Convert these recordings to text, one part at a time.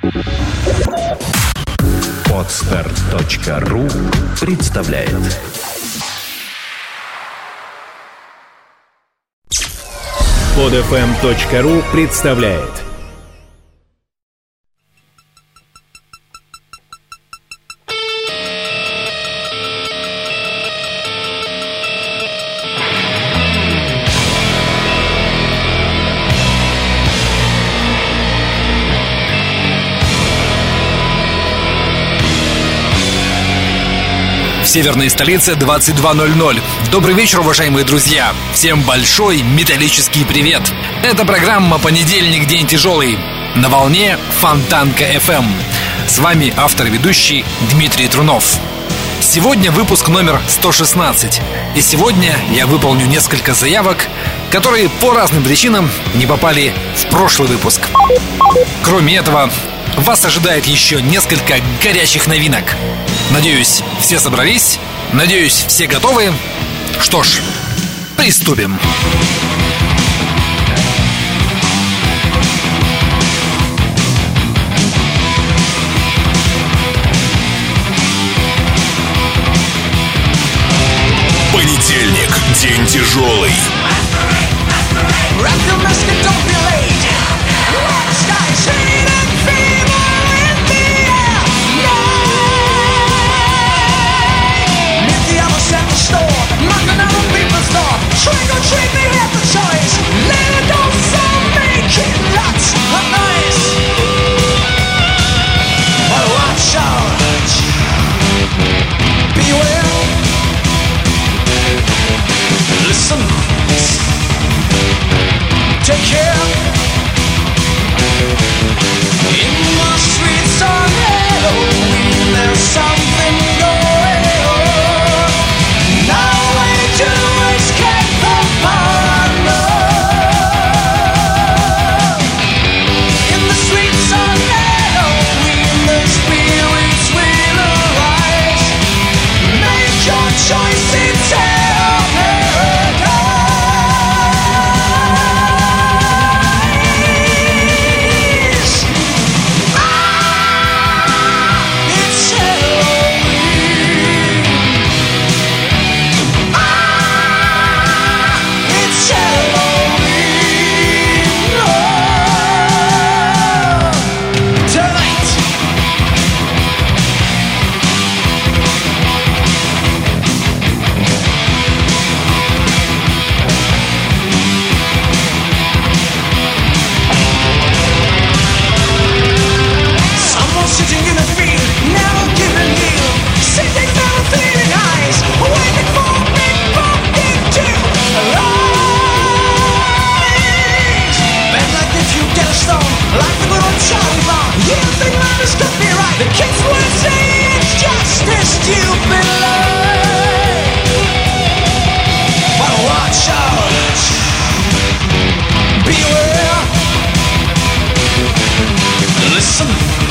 Podster.ru представляет. Podfm.ru представляет. В северной столице 22:00. Добрый вечер, уважаемые друзья. Всем большой металлический привет. Это программа «Понедельник. День тяжелый» на волне Фонтанка FM. С вами автор и ведущий Дмитрий Трунов. Сегодня выпуск номер 116. И сегодня я выполню несколько заявок, которые по разным причинам не попали в прошлый выпуск. Кроме этого, вас ожидает еще несколько горячих новинок. Надеюсь, все собрались. Надеюсь, все готовы. Что ж, приступим. Понедельник. День тяжелый. Trick or treat, they have the choice. Let it go, some make it lots of noise. But watch out, beware. Listen, take care. In the streets on Halloween, there's something going on. No way to escape the paranoia. In the streets on Halloween, the spirits will arise. Make your choice, it's hell paradise. It's Halloween. It's Halloween. Tonight. Someone sitting in a field, never giving heel, sitting there with fleeting eyes, waiting for a big pumpkin to arise. Bend like if you get a stone, like the good old Charlie Brown. You think love is could be right? The kids will say it's just a stupid lie. But watch out, beware. Listen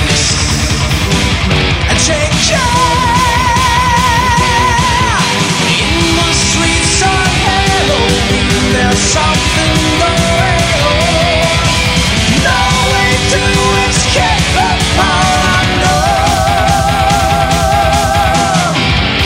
and take care. In the streets on Halloween, there's something going on. No way to escape the paranoia.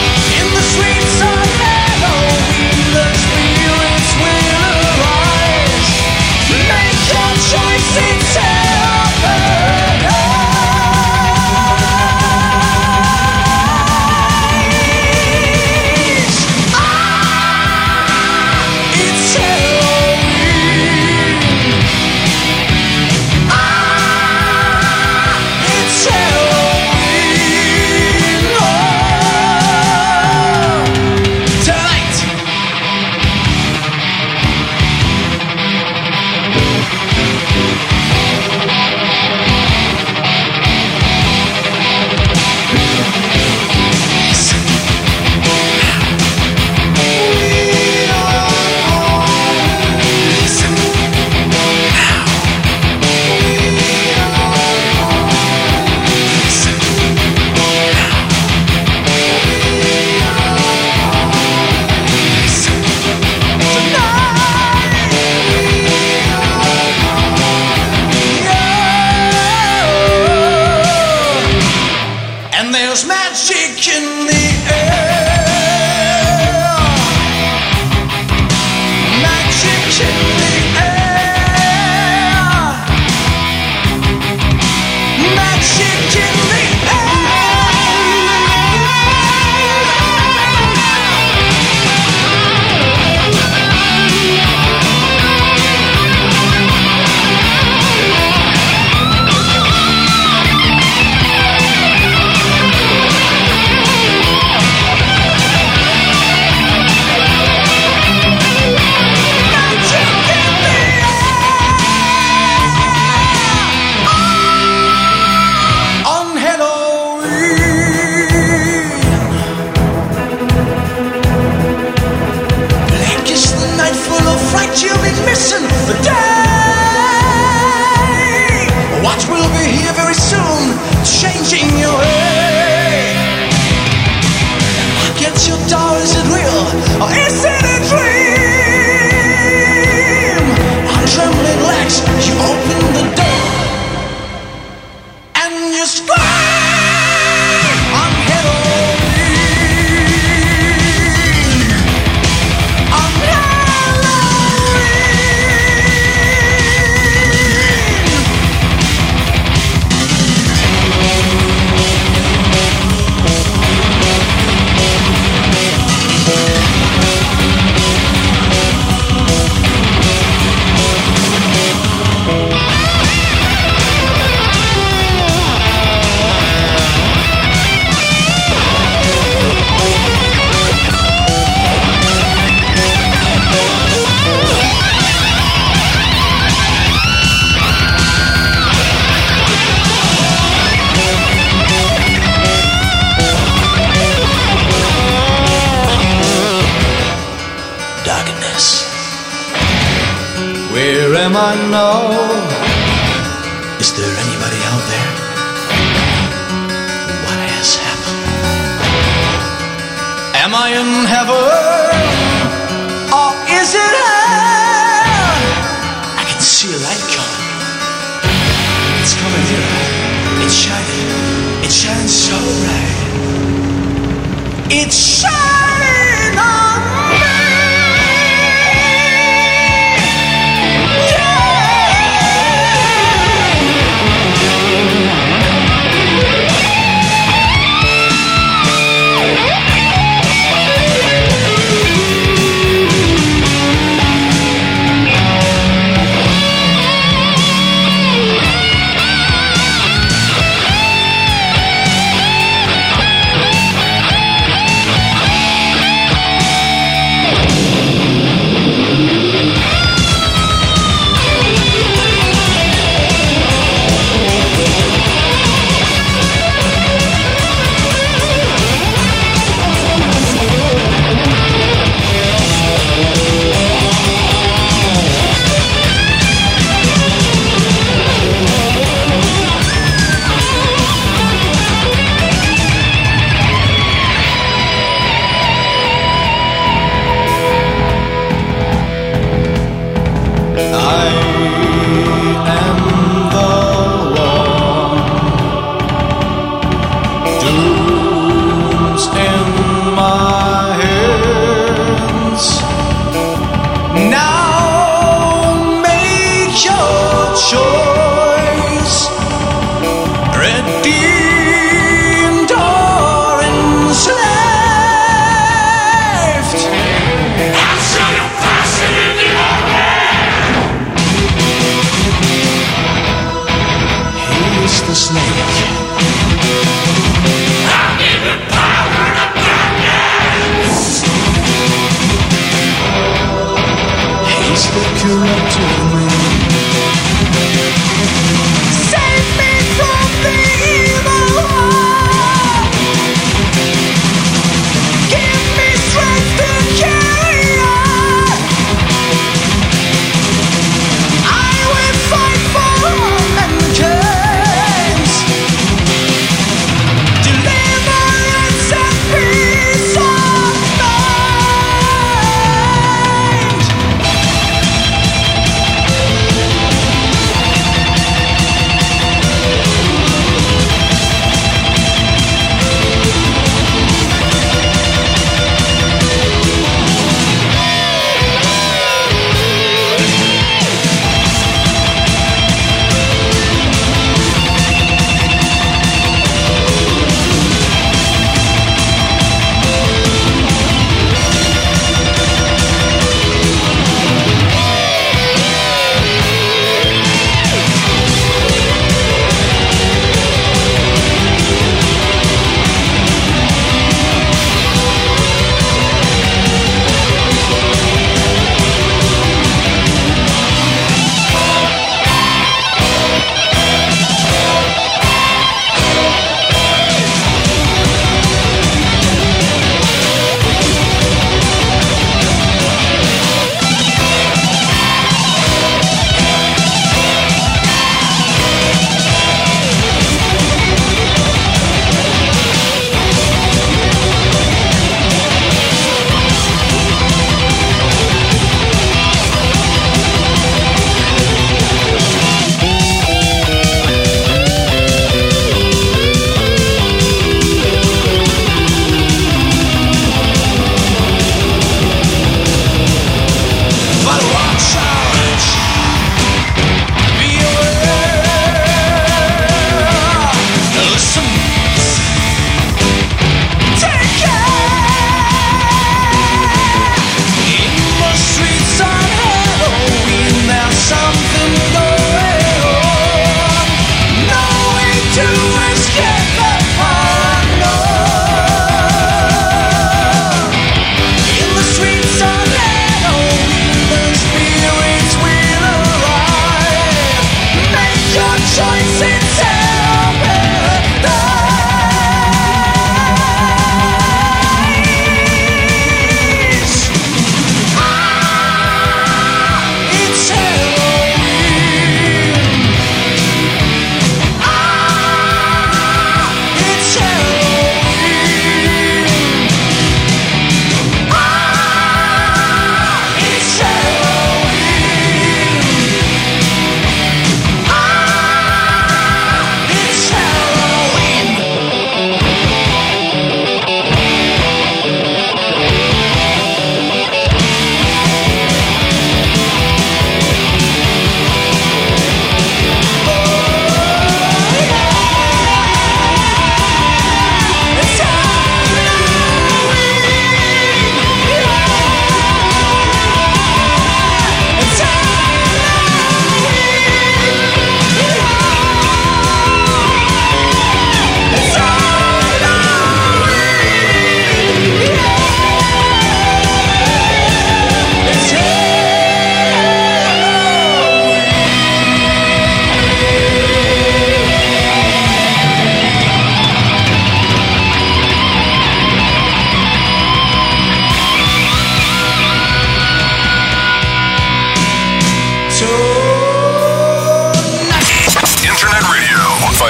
There's magic in the air. Magic in the air. Magic in the you'll be missing the day. What will be here very soon, changing your way. Look at your door, is it real or is it a dream? On trembling legs, you open the door and you scream on Halloween. On where am I now? Is there anybody out there? What has happened? Am I in heaven? Or is it hell? I can see a light coming. It's coming nearer. It's shining. It shines so bright. It's shining on me.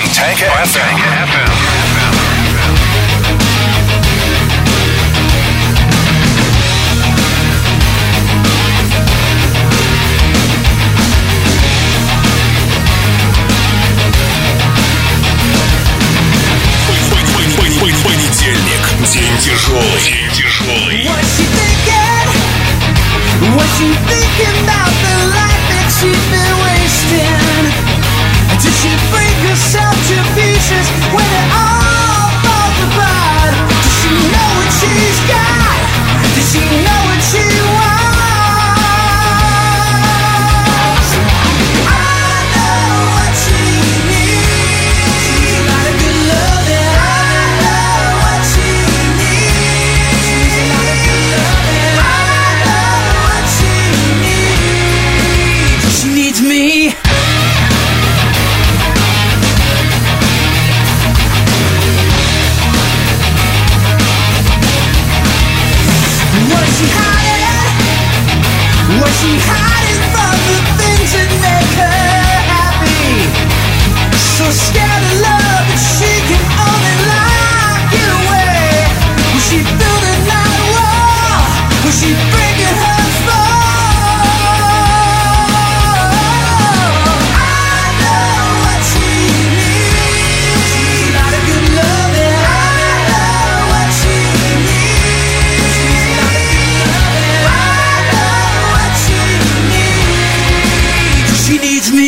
Fontanka FM. Понедельник. День тяжелый. День тяжелый. Was she thinking about the life that she's been wasting? Did she break herself to pieces when it all falls apart? Does she know what she's got? Does she know what she wants? I know what she needs. She's a lot of good love and I know what she needs. She's a lot of good love and I know what she needs. She needs me. Was she hiding from the things that make her happy? So scared of love that she can only lock it away. Was she building that wall? Was she breaking her fall? I know what she needs. She's a lot of good love and I know what she needs. She's a lot of good love and I know what she needs. She needs me.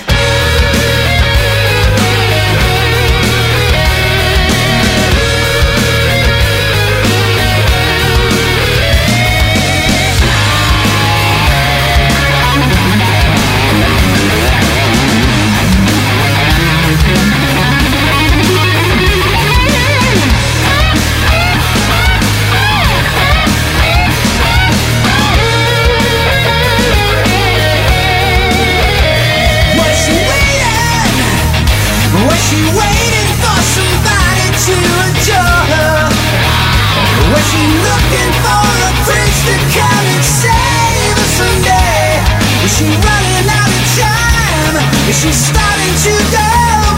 Was she waiting for somebody to adore her? Was she looking for a prince to come and save her someday? Was she running out of time? Is she starting to go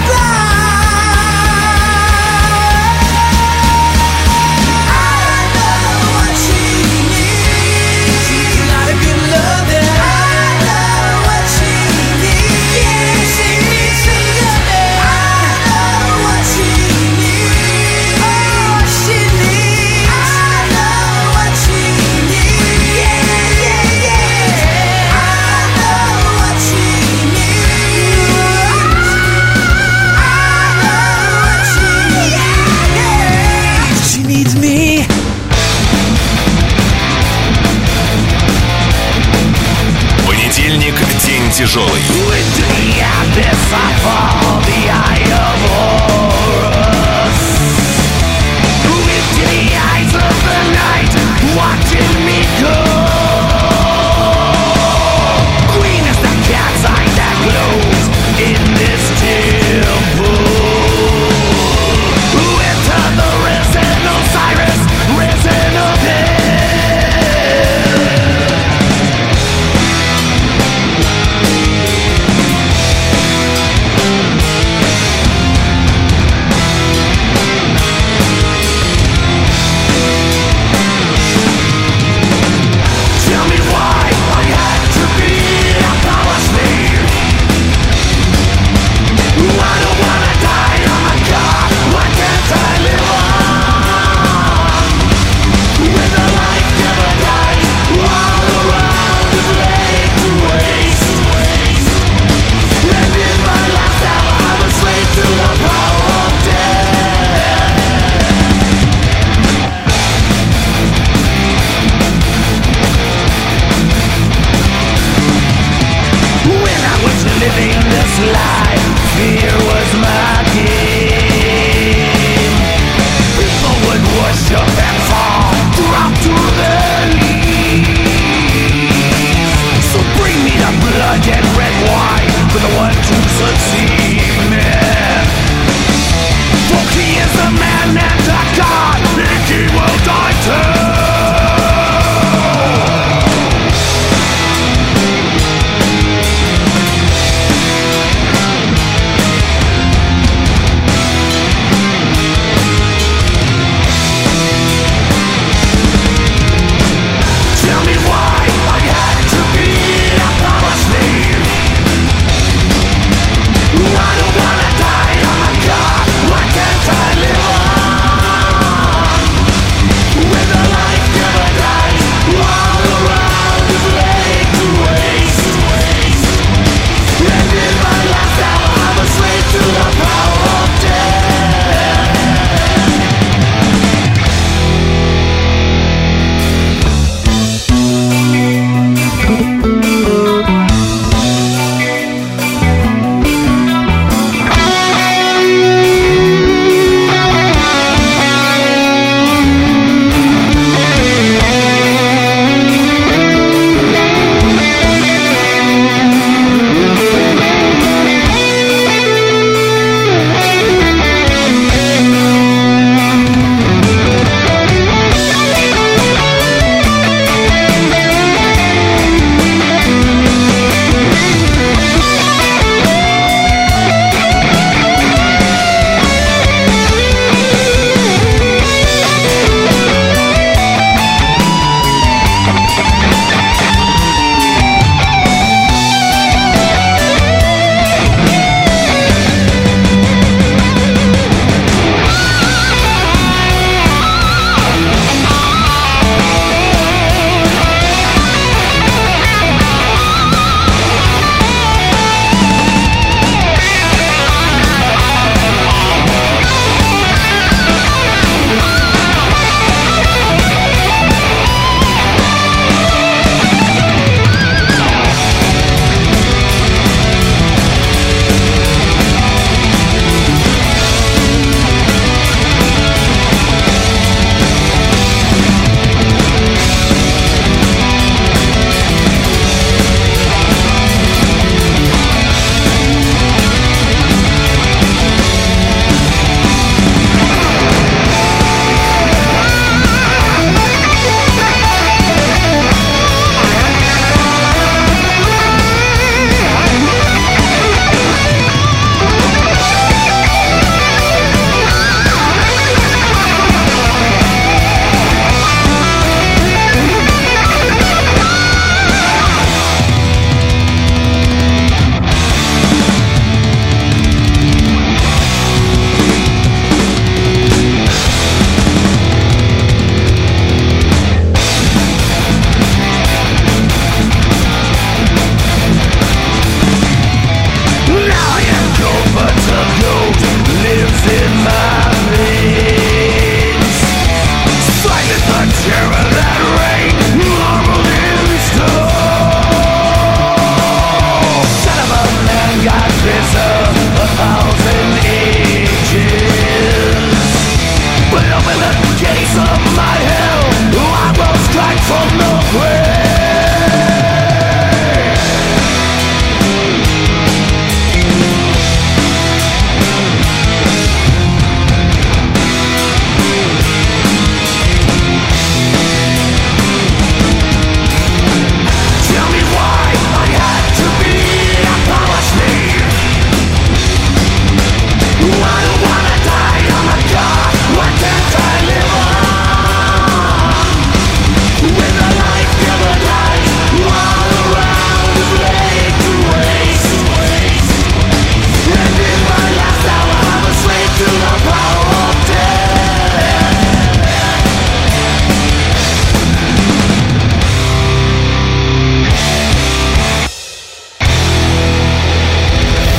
blind? I know what she needs. She's a lot of good love and I know what she needs. She needs some love. I know what she needs. Oh, she needs. I know what she needs. Yeah, yeah, yeah. I know what she needs. I know what she needs. She needs me. Понедельник. День тяжелый. With the abyss I fall, the eye of Horus. With the eyes of the night, watching me go. Queen is the cat's eye that glows in this temple. Enter the risen Osiris, risen of hell.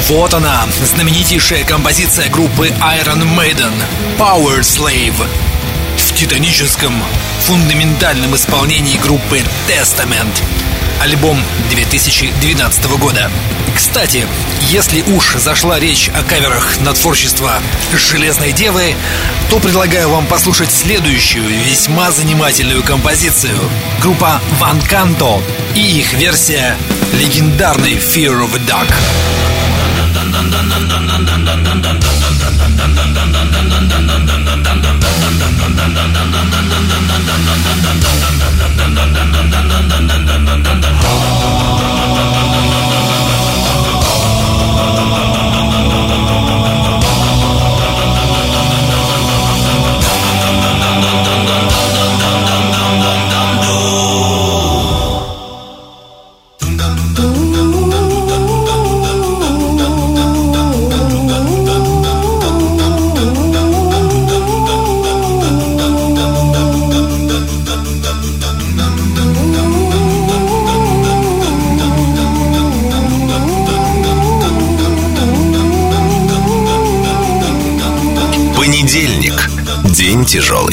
Вот она, знаменитейшая композиция группы Iron Maiden «Power Slave» в титаническом, фундаментальном исполнении группы Testament. Альбом 2012 года. Кстати, если уж зашла речь о каверах на творчество «Железной девы», то предлагаю вам послушать следующую весьма занимательную композицию. Группа Van Canto и их версия легендарной Fear of the Dark. Понедельник. День тяжелый.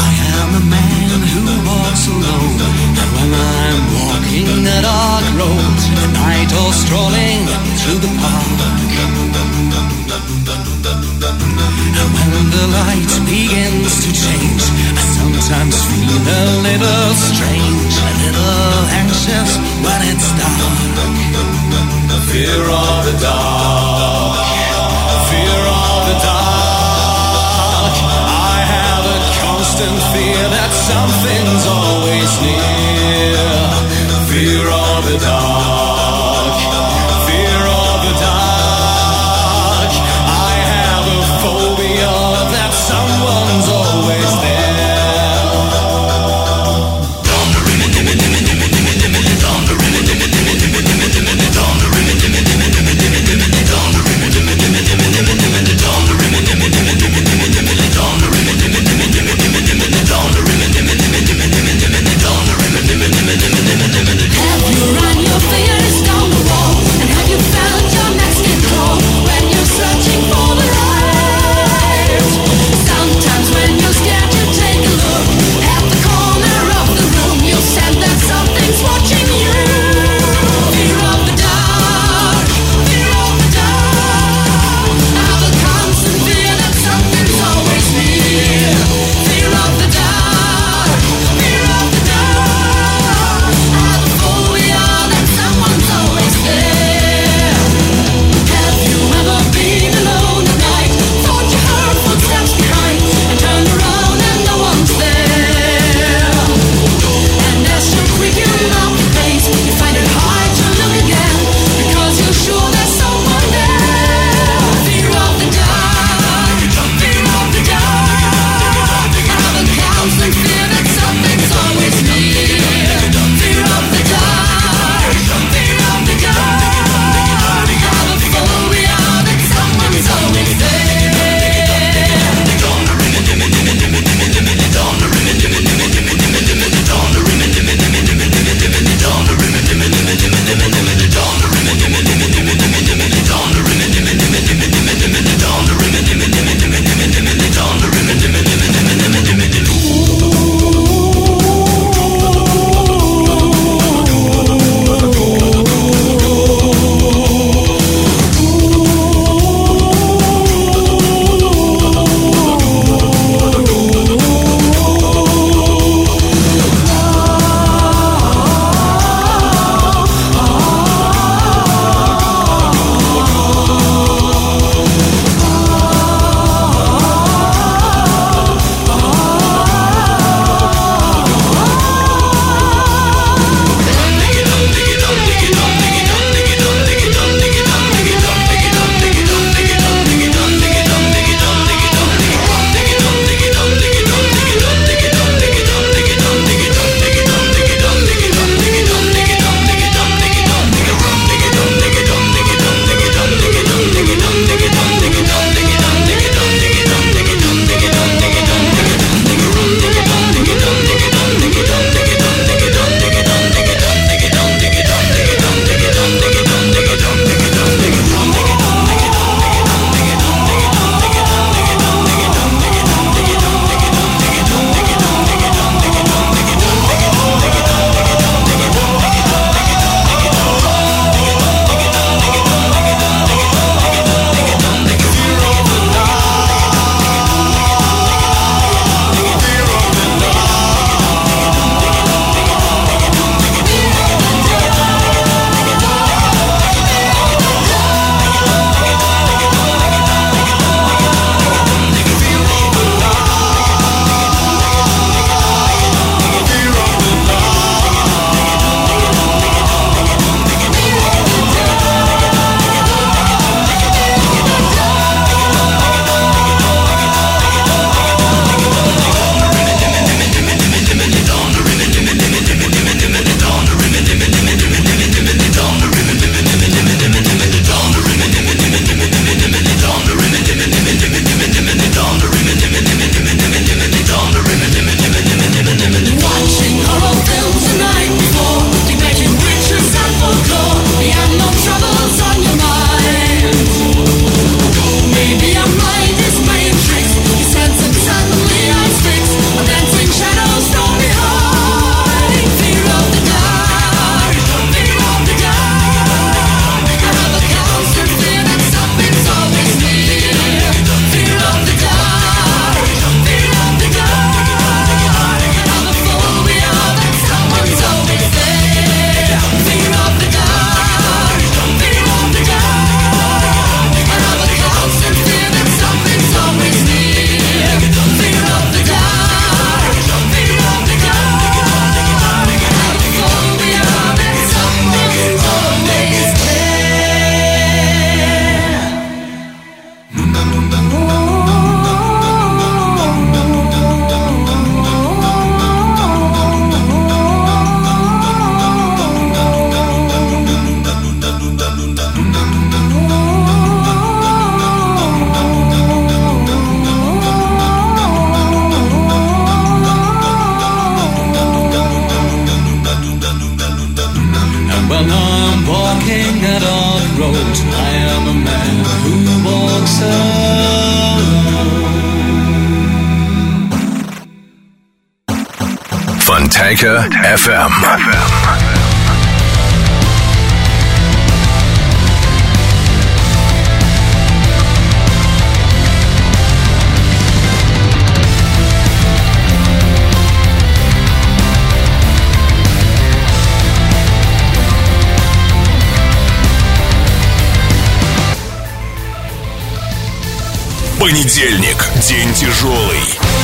Fear of the dark, fear of the dark. I have a constant fear that something's always near. Fear of the dark, fear of the dark. I have a phobia that someone's always there. Down the Jamaica FM. Понедельник. День тяжелый.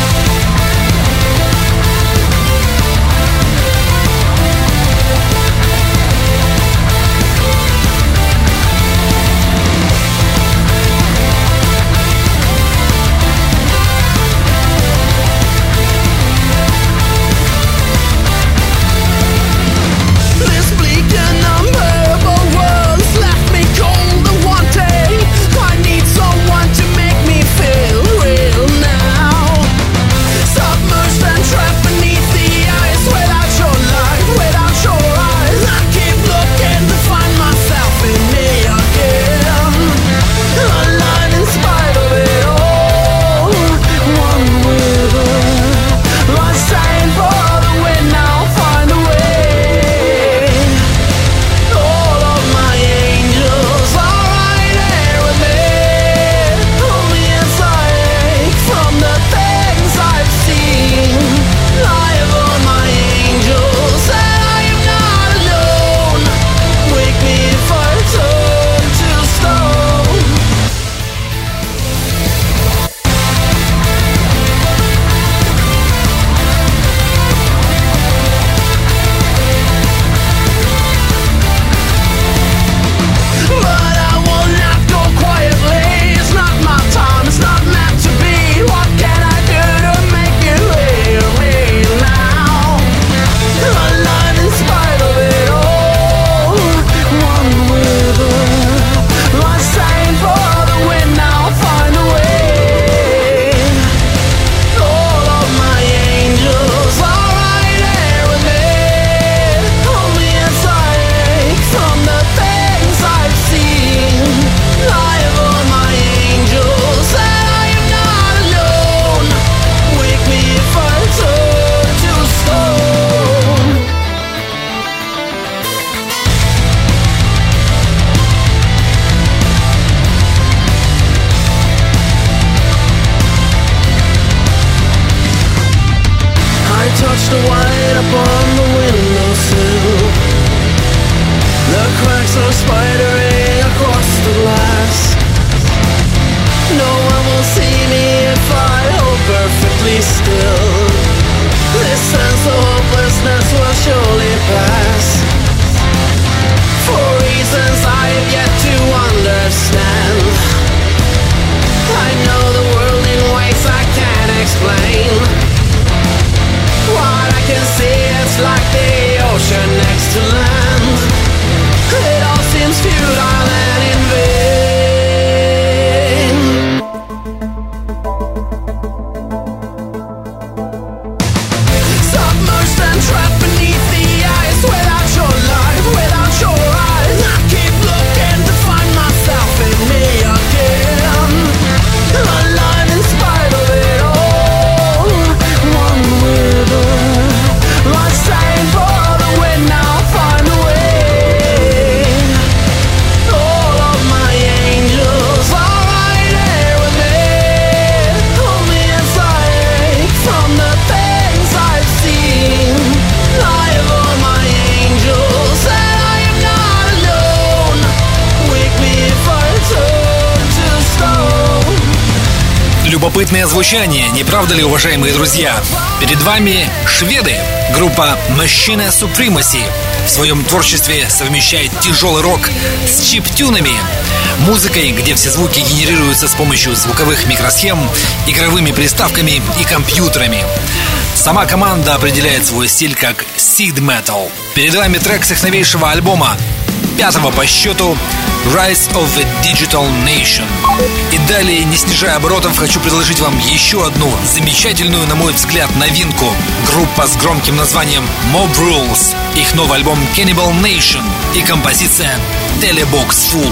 Любопытное звучание, не правда ли, уважаемые друзья? Перед вами шведы, группа Machine Supremacy. В своем творчестве совмещает тяжелый рок с чип-тюнами, музыкой, где все звуки генерируются с помощью звуковых микросхем, игровыми приставками и компьютерами. Сама команда определяет свой стиль как Seed Metal. Перед вами трек с их новейшего альбома, 5-го по счету, Rise of a Digital Nation. И далее, не снижая оборотов, хочу предложить вам еще одну замечательную, на мой взгляд, новинку. Группа с громким названием Mob Rules, их новый альбом Cannibal Nation и композиция Telebox Full.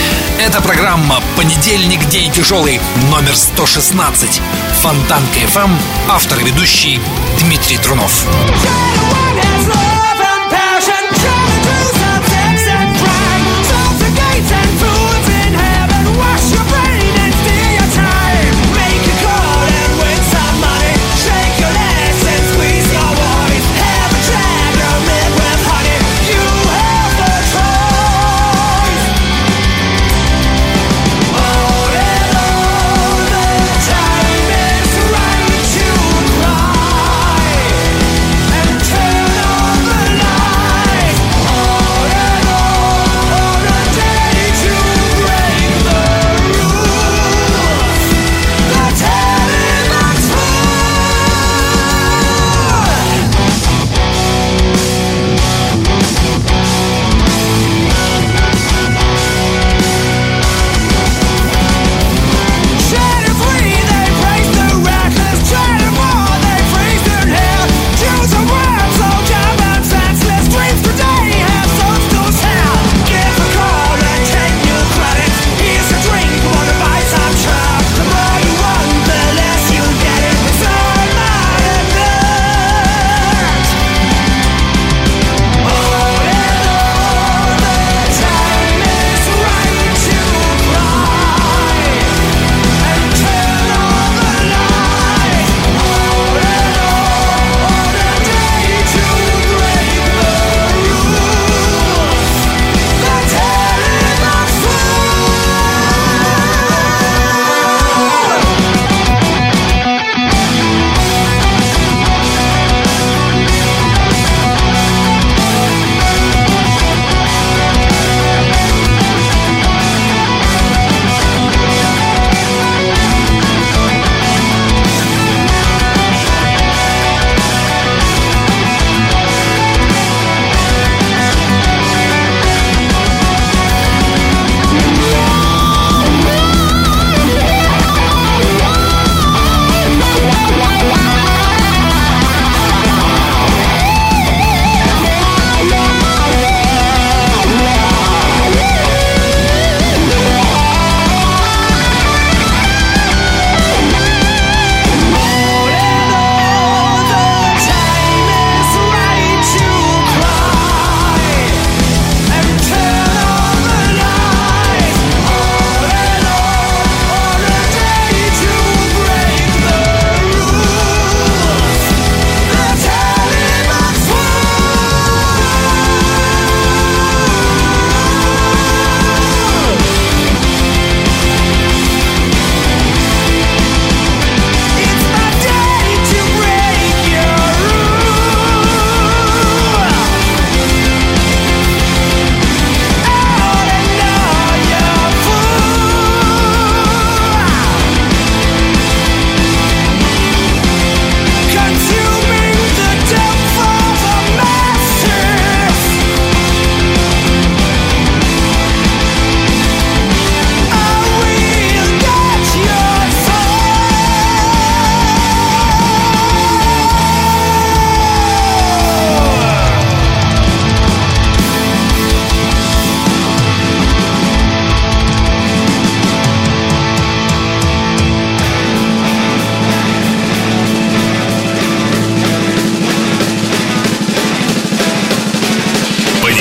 Это программа «Понедельник. День тяжелый», номер 116. Фонтанка FM, автор и ведущий Дмитрий Трунов.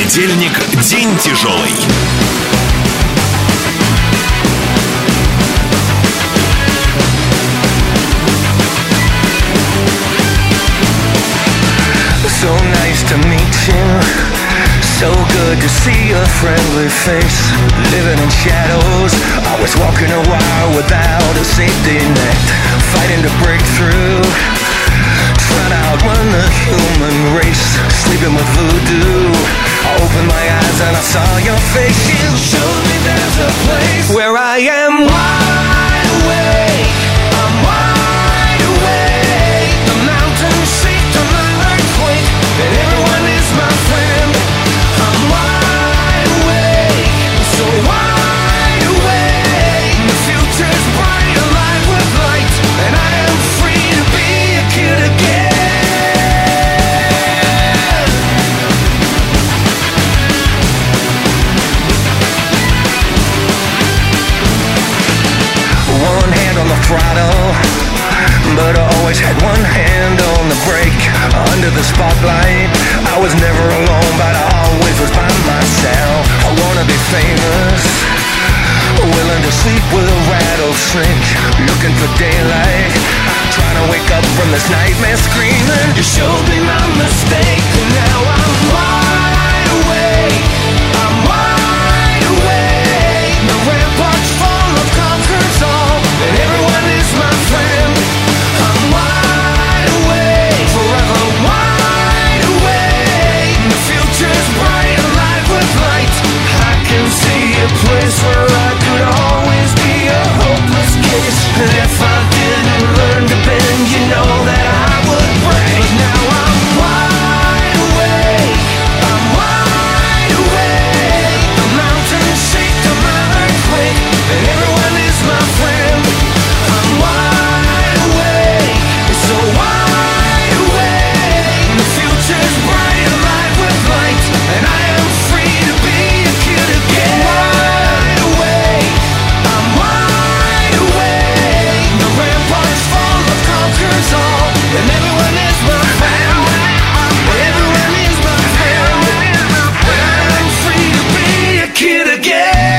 Понедельник – день тяжелый. So nice to meet you. So good to see a friendly face. Living in shadows, always walking a wire without a safety net. Fighting to break through, trying to outrun the human race. Sleeping with voodoo. I opened my eyes and I saw your face. You showed me there's a place where I am wide awake. I'm wide awake. The mountains shake to my earthquake, and everyone is my friend. I'm wide awake, so wide awake. The future's bright, alive with light, and I am free to be a kid again. One hand on the throttle, but I always had one hand on the brake. Under the spotlight, I was never alone, but I always was by myself. I wanna be famous, willing to sleep with a rattlesnake, looking for daylight, trying to wake up from this nightmare screaming. You showed me my mistake, and now I'm wide awake. I'm wide awake. The ramparts fall of conquers all, and everyone is my friend. I'm wide awake, forever wide awake. The future's bright, alive with light. I can see a place where I could always be a hopeless case. And if I didn't learn to bend, you know that I would break. Now I'm wide awake. I'm wide awake. The mountains shake to my earthquake, and everyone is my friend. I'm wide awake, so wide awake. The future's bright, alive with light, and I am free to be a kid again. Wide awake, I'm wide awake. The ramparts fall of conquers all, and everyone is my friend. Everyone is my friend, and I am free to be a kid again.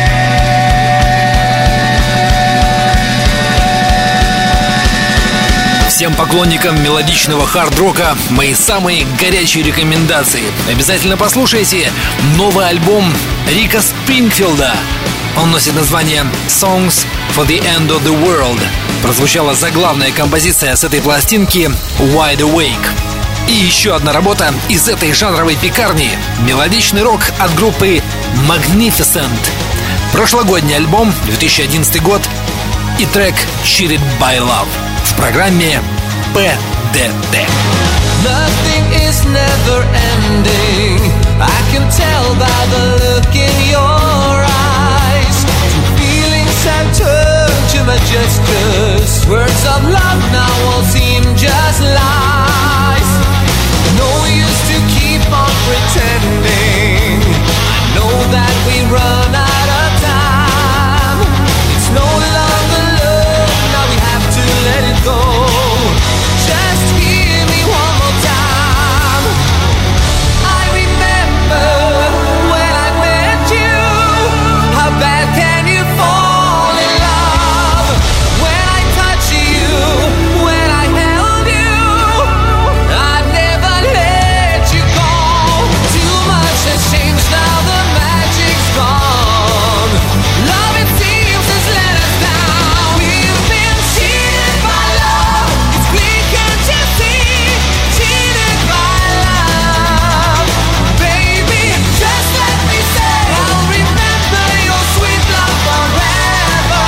Всем поклонникам мелодичного хард-рока мои самые горячие рекомендации. Обязательно послушайте новый альбом Рика Спрингфилда. Он носит название Songs for the End of the World. Прозвучала заглавная композиция с этой пластинки Wide Awake. И еще одна работа из этой жанровой пекарни. Мелодичный рок от группы Magnificent. Прошлогодний альбом, 2011 год, и трек Cheated by Love в программе ПДТ. Nothing is never ending. I can tell by the look in your eyes. Two feelings have turned to my gestures. Words of love now all seem just lies. No use to keep on pretending. I know that we run out of time. It's no longer love, now we have to let it go. Just hear me one more time. I remember when I met you. How bad can you fall in love? When I touch you, when I held you, I'd never let you go. Too much has changed, now the magic's gone. Love, it seems, has let us down. We've been cheated by love. It's clear, can't you see? Cheated by love. Baby, just let me say, I'll remember your sweet love forever.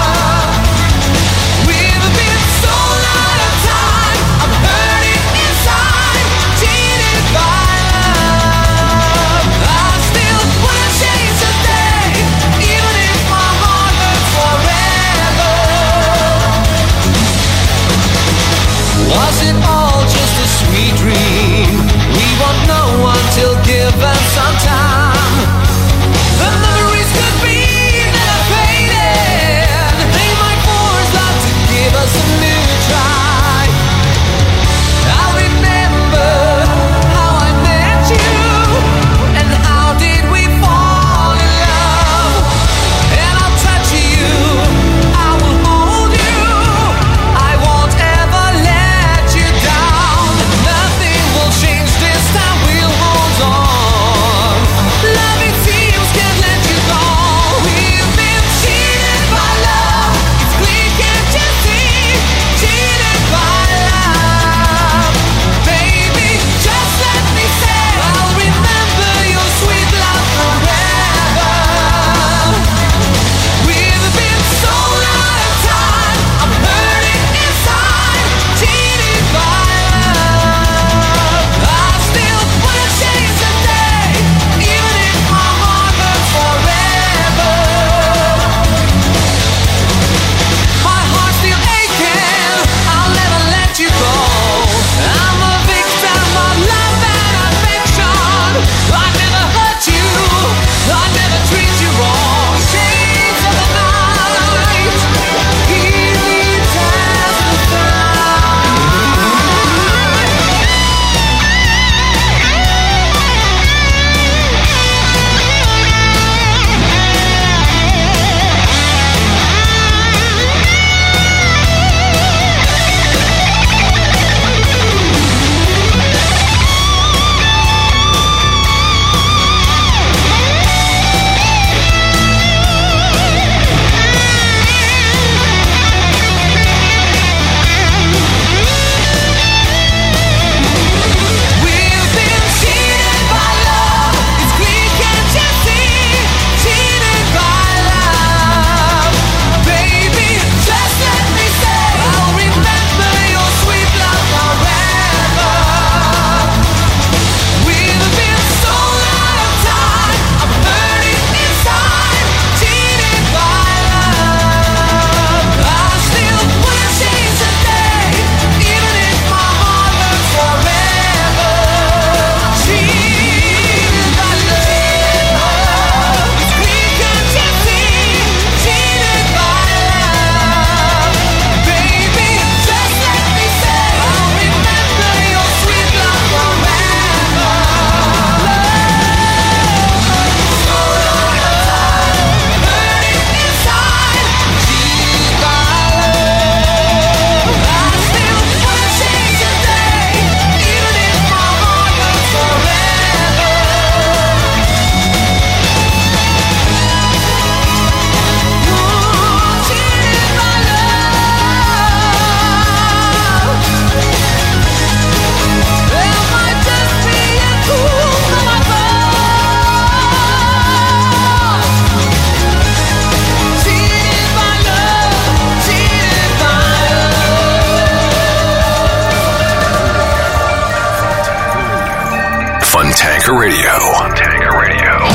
We've been sold out of time. I'm burning inside. Cheated by love. I still wanna chase the day, even if my heart hurts forever. Was it all just a sweet dream? We won't know until given some time. The memories could be never faded. They might force love to give us a new try. I'll remember how I met you and how Fontanka Radio. Fontanka Radio.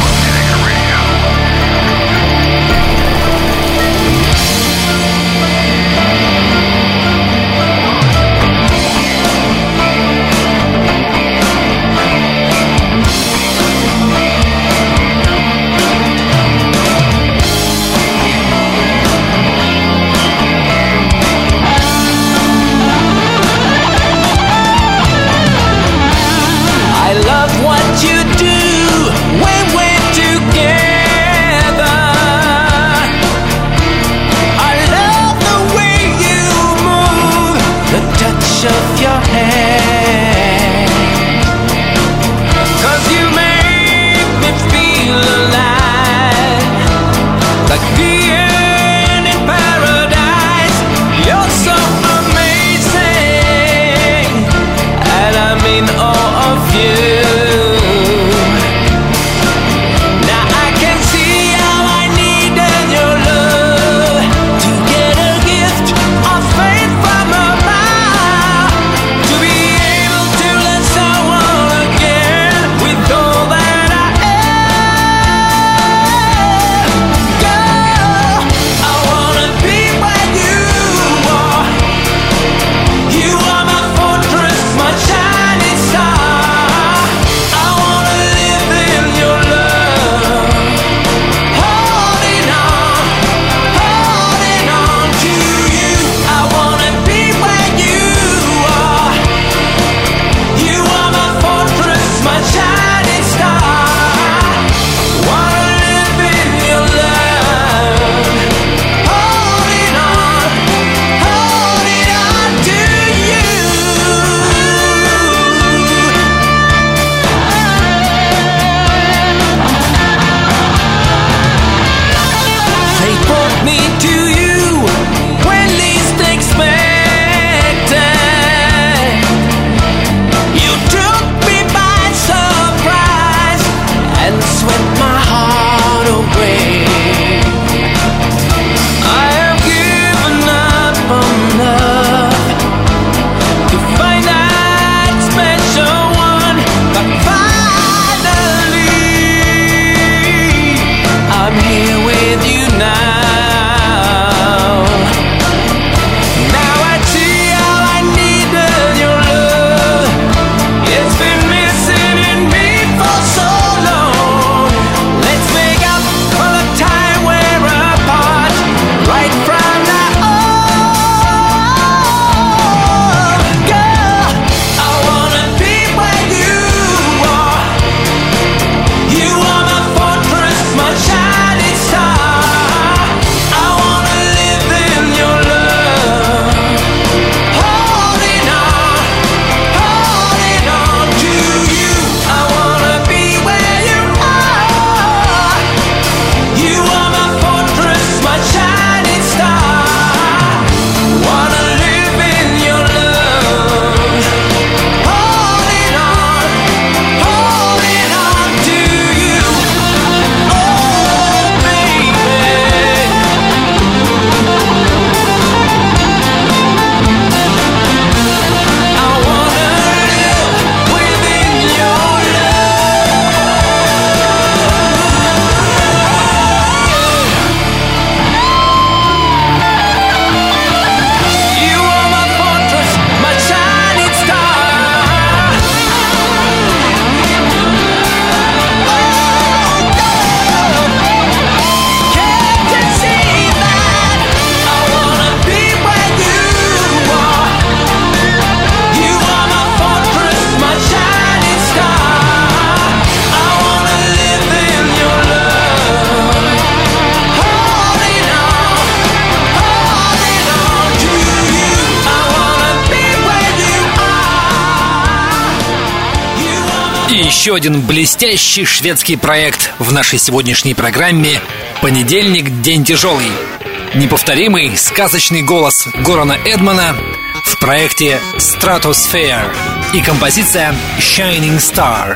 Of your hand, 'cause you make me feel alive, like being in paradise. You're so amazing, and I'm in awe of you. Now I can see how I needed your love to get a gift of faith from above. Еще один блестящий шведский проект в нашей сегодняшней программе «Понедельник. День тяжелый». Неповторимый, сказочный голос Горана Эдмана в проекте Stratosphere и композиция Shining Star.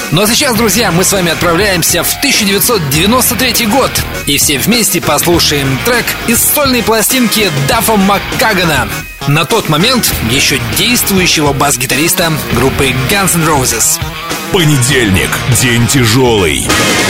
Ну а сейчас, друзья, мы с вами отправляемся в 1993 год и все вместе послушаем трек из сольной пластинки Даффа Маккагана, на тот момент еще действующего бас-гитариста группы Guns N' Roses. Понедельник. День тяжелый.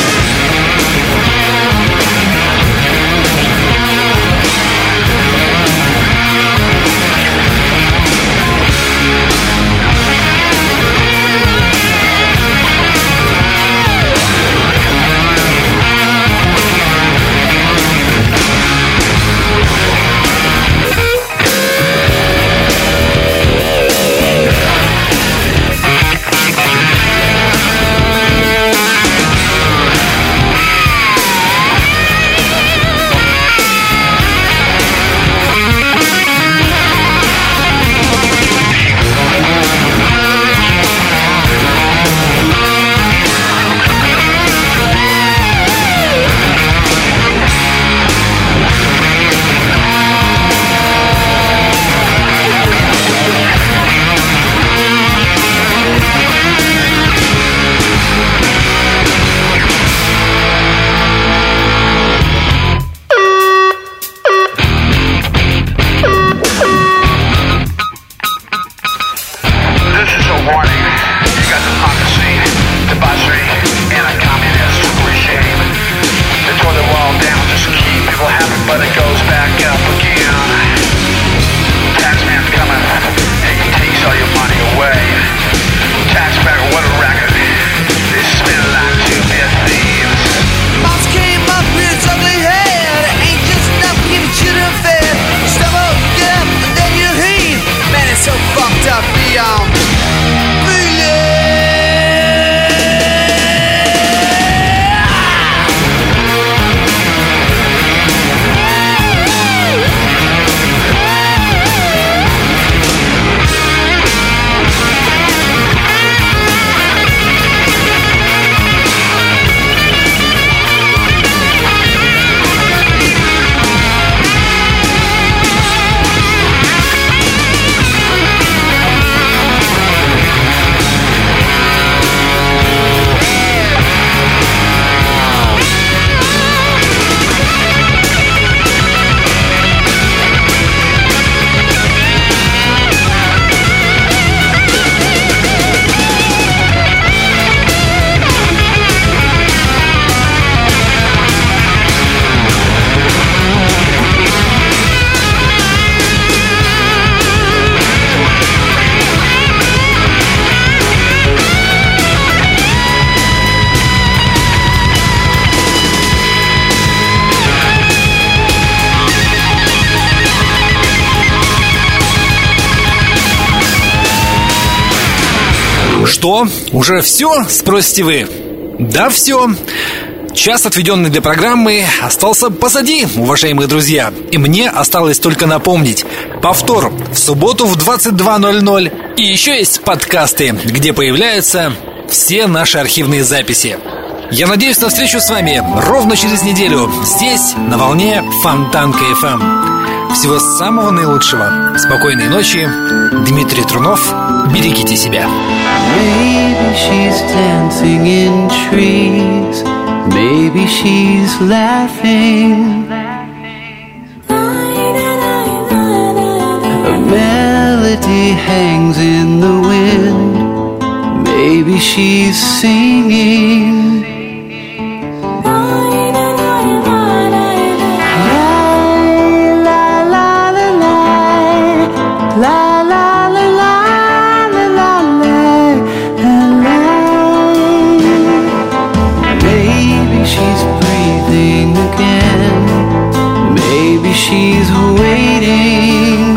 Что? Уже все? Спросите вы. Да, все. Час, отведенный для программы, остался позади, уважаемые друзья. И мне осталось только напомнить: повтор в субботу в 22:00. И еще есть подкасты, где появляются все наши архивные записи. Я надеюсь на встречу с вами ровно через неделю здесь, на волне Фонтанка FM. Всего самого наилучшего. Спокойной ночи. Дмитрий Трунов. Берегите себя. Maybe she's dancing in trees. Maybe she's laughing. A melody hangs in the wind. Maybe she's singing. She's waiting,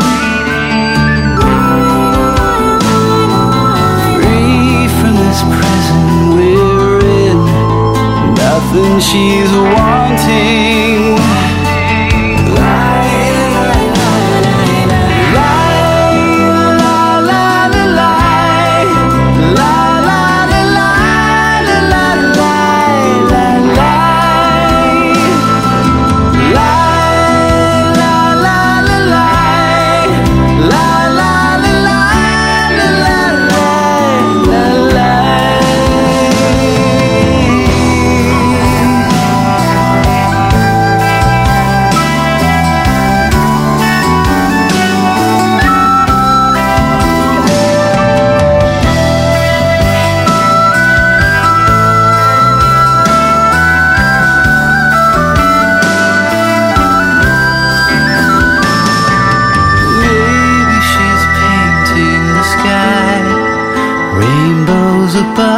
free from this present we're in. Nothing she's wanting.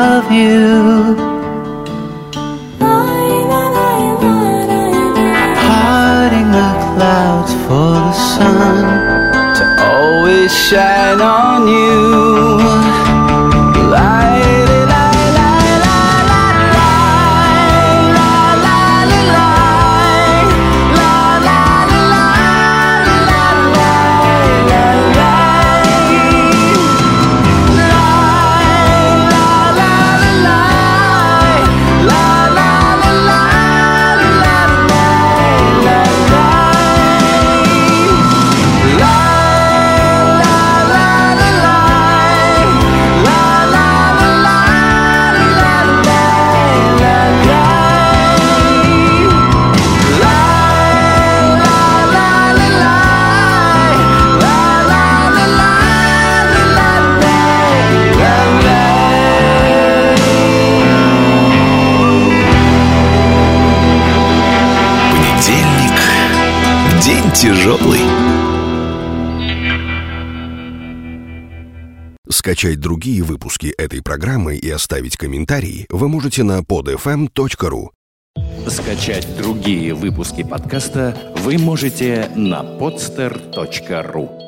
love you. Parting the clouds for the sun to always shine on you. Тяжелый. Скачать другие выпуски этой программы и оставить комментарии вы можете на podfm.ru. Скачать другие выпуски подкаста вы можете на podster.ru.